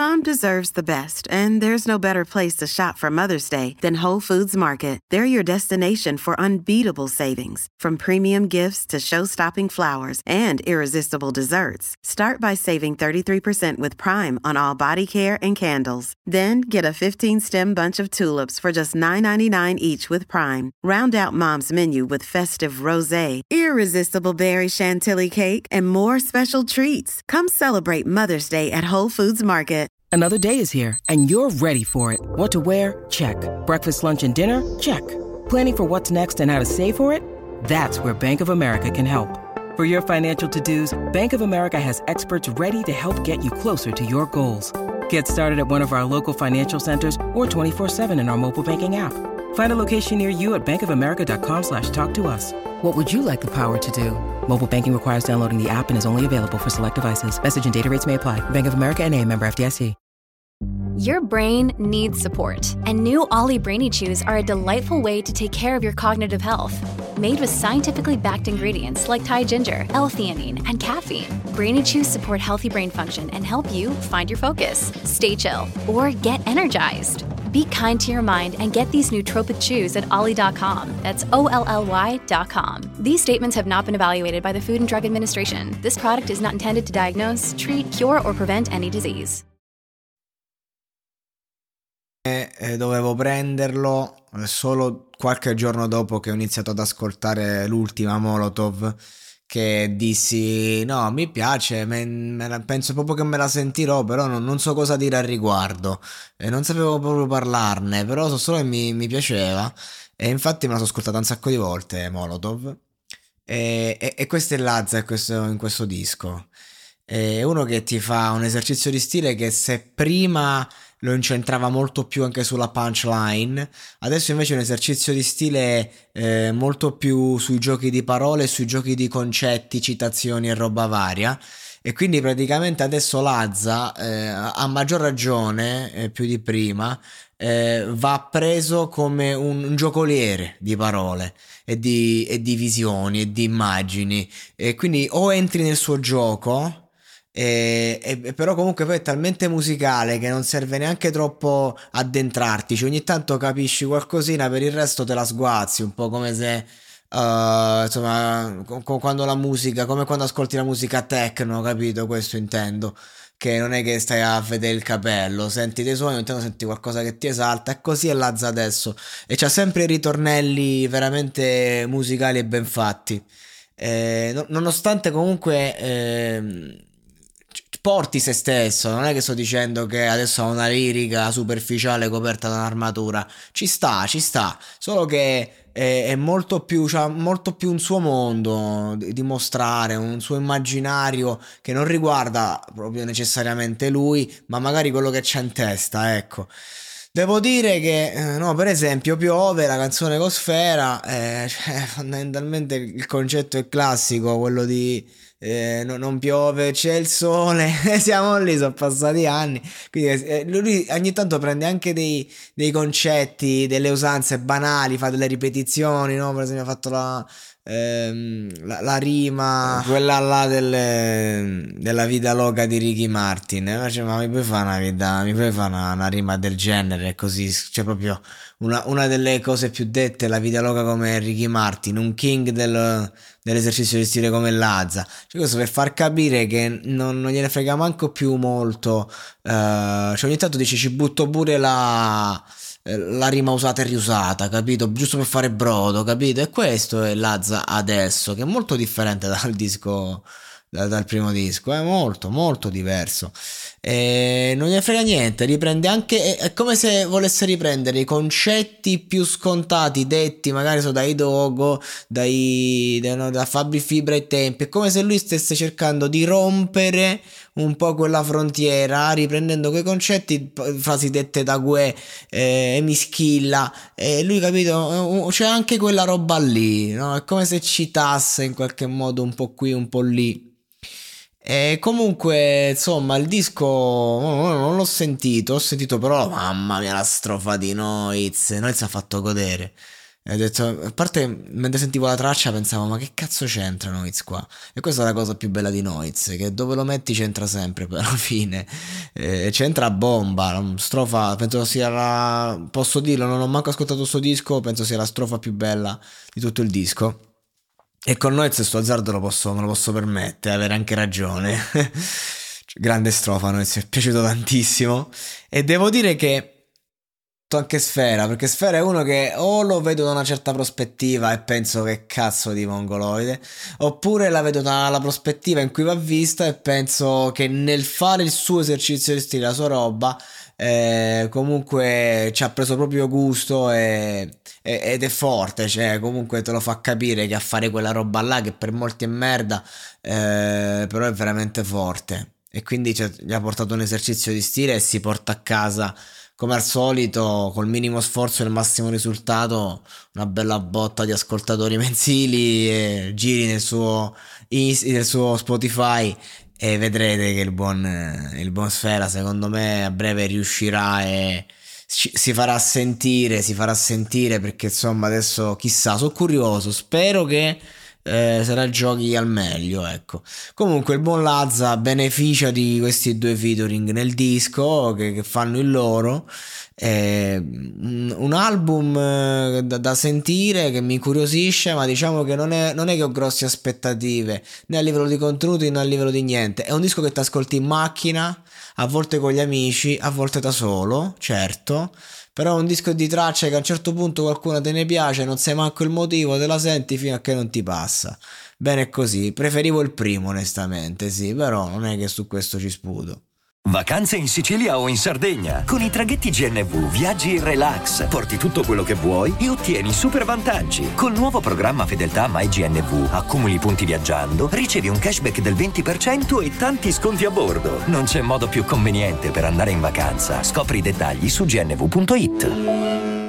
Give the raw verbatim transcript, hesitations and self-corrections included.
Mom deserves the best, and there's no better place to shop for Mother's Day than Whole Foods Market. They're your destination for unbeatable savings, from premium gifts to show-stopping flowers and irresistible desserts. Start by saving thirty-three percent with Prime on all body care and candles. Then get a fifteen-stem bunch of tulips for just nine ninety-nine each with Prime. Round out Mom's menu with festive rosé, irresistible berry chantilly cake, and more special treats. Come celebrate Mother's Day at Whole Foods Market. Another day is here, and you're ready for it. What to wear? Check. Breakfast, lunch, and dinner? Check. Planning for what's next and how to save for it? That's where Bank of America can help. For your financial to-dos, Bank of America has experts ready to help get you closer to your goals. Get started at one of our local financial centers or twenty-four seven in our mobile banking app. Find a location near you at bankofamerica.com slash talk to us. What would you like the power to do? Mobile banking requires downloading the app and is only available for select devices. Message and data rates may apply. Bank of America N A, member F D I C. Your brain needs support, and new Ollie Brainy Chews are a delightful way to take care of your cognitive health. Made with scientifically backed ingredients like Thai ginger, L-theanine, and caffeine, Brainy Chews support healthy brain function and help you find your focus, stay chill, or get energized. Be kind to your mind and get these nootropic chews at ollie dot com. That's O L L Y dot com. These statements have not been evaluated by the Food and Drug Administration. This product is not intended to diagnose, treat, cure, or prevent any disease. E dovevo prenderlo solo qualche giorno dopo che ho iniziato ad ascoltare l'ultima Molotov, che dissi no, mi piace, me, me la, penso proprio che me la sentirò, però non, non so cosa dire al riguardo e non sapevo proprio parlarne, però so solo che mi, mi piaceva e infatti me la sono ascoltata un sacco di volte Molotov e, e, e questo è Lazza in questo, in questo disco. È uno che ti fa un esercizio di stile che se prima lo incentrava molto più anche sulla punchline, adesso invece è un esercizio di stile eh, molto più sui giochi di parole, sui giochi di concetti, citazioni e roba varia, e quindi praticamente adesso Lazza eh, a maggior ragione eh, più di prima eh, va preso come un, un giocoliere di parole e di, e di visioni e di immagini, e quindi o entri nel suo gioco E, e però comunque poi è talmente musicale che non serve neanche troppo addentrarti, cioè ogni tanto capisci qualcosina, per il resto te la sguazzi, un po' come se uh, insomma co- co- quando la musica, come quando ascolti la musica techno, capito? Questo intendo, che non è che stai a vedere il capello, senti dei suoni, ogni tanto senti qualcosa che ti esalta, e così è Lazza adesso, e c'ha sempre i ritornelli veramente musicali e ben fatti, eh, no- nonostante comunque ehm, porti se stesso, non è che sto dicendo che adesso ha una lirica superficiale coperta da un'armatura, ci sta, ci sta, solo che è, è molto più, c'ha molto più un suo mondo di, di mostrare, un suo immaginario che non riguarda proprio necessariamente lui, ma magari quello che c'ha in testa, ecco. Devo dire che, eh, no, per esempio, Piove, la canzone con Sfera, eh, cioè, fondamentalmente il concetto è classico, quello di eh, no- non piove, c'è il sole, siamo lì, sono passati anni, quindi eh, lui ogni tanto prende anche dei, dei concetti, delle usanze banali, fa delle ripetizioni, no? Per esempio ha fatto la... ehm, la, la rima, quella là delle, della vita loca di Ricky Martin, eh, cioè, ma mi puoi fare una vita, mi puoi fare una, una rima del genere così, cioè proprio una, una delle cose più dette, la vita loca come Ricky Martin, un king del, dell'esercizio di stile come Lazza, cioè questo per far capire che non, non gliene frega manco più molto, eh, cioè ogni tanto dice ci butto pure la eh, la rima usata e riusata, capito? Giusto per fare brodo, capito? E questo è Lazza adesso, che è molto differente dal disco, da- dal primo disco, è molto, molto diverso. E non gliene frega niente, riprende anche, è, è come se volesse riprendere i concetti più scontati, detti magari so dai Dogo, dai, da, no, da Fabri Fibra ai tempi, è come se lui stesse cercando di rompere un po' quella frontiera, riprendendo quei concetti, p- frasi dette da Gue eh, e Mischilla, e lui, capito, eh, c'è anche quella roba lì, no? È come se citasse in qualche modo un po' qui, un po' lì. E comunque, insomma, il disco oh, non l'ho sentito, ho sentito però, mamma mia, la strofa di Noiz, Noiz ha fatto godere. E ho detto, a parte mentre sentivo la traccia pensavo, ma che cazzo c'entra Noiz qua? E questa è la cosa più bella di Noiz, che dove lo metti c'entra sempre, poi alla fine eh, c'entra a bomba, la strofa, penso sia la, posso dirlo, non ho manco ascoltato questo disco, penso sia la strofa più bella di tutto il disco. E con Noiz sto azzardo lo posso, me lo posso permettere, avere anche ragione. Grande strofa, Noiz, mi è piaciuto tantissimo. E devo dire che anche Sfera, perché Sfera è uno che o lo vedo da una certa prospettiva e penso che cazzo di mongoloide, oppure la vedo dalla prospettiva in cui va vista e penso che nel fare il suo esercizio di stile, la sua roba, eh, comunque ci ha preso proprio gusto e, e, ed è forte, cioè comunque te lo fa capire che a fare quella roba là che per molti è merda, eh, però è veramente forte, e quindi cioè, gli ha portato un esercizio di stile e si porta a casa come al solito, col minimo sforzo e il massimo risultato, una bella botta di ascoltatori mensili, e giri nel suo, nel suo Spotify e vedrete che il buon, il buon Sfera secondo me a breve riuscirà e si farà sentire, si farà sentire perché insomma adesso chissà, sono curioso, spero che Eh, se la giochi al meglio, ecco. Comunque il buon Lazza beneficia di questi due featuring nel disco che, che fanno il loro, eh, un, un album eh, da, da sentire, che mi incuriosisce, ma diciamo che non è, non è che ho grosse aspettative né a livello di contenuti né a livello di niente. È un disco che ti ascolti in macchina, a volte con gli amici, a volte da solo, certo, però è un disco di tracce che a un certo punto qualcuno te ne piace, non sai manco il motivo, te la senti fino a che non ti passa. Bene così, preferivo il primo onestamente, sì, però non è che su questo ci sputo. Vacanze in Sicilia o in Sardegna. Con i traghetti G N V viaggi in relax, porti tutto quello che vuoi e ottieni super vantaggi. Col nuovo programma Fedeltà MyGNV accumuli punti viaggiando, ricevi un cashback del venti per cento e tanti sconti a bordo. Non c'è modo più conveniente per andare in vacanza. Scopri i dettagli su gnv punto it.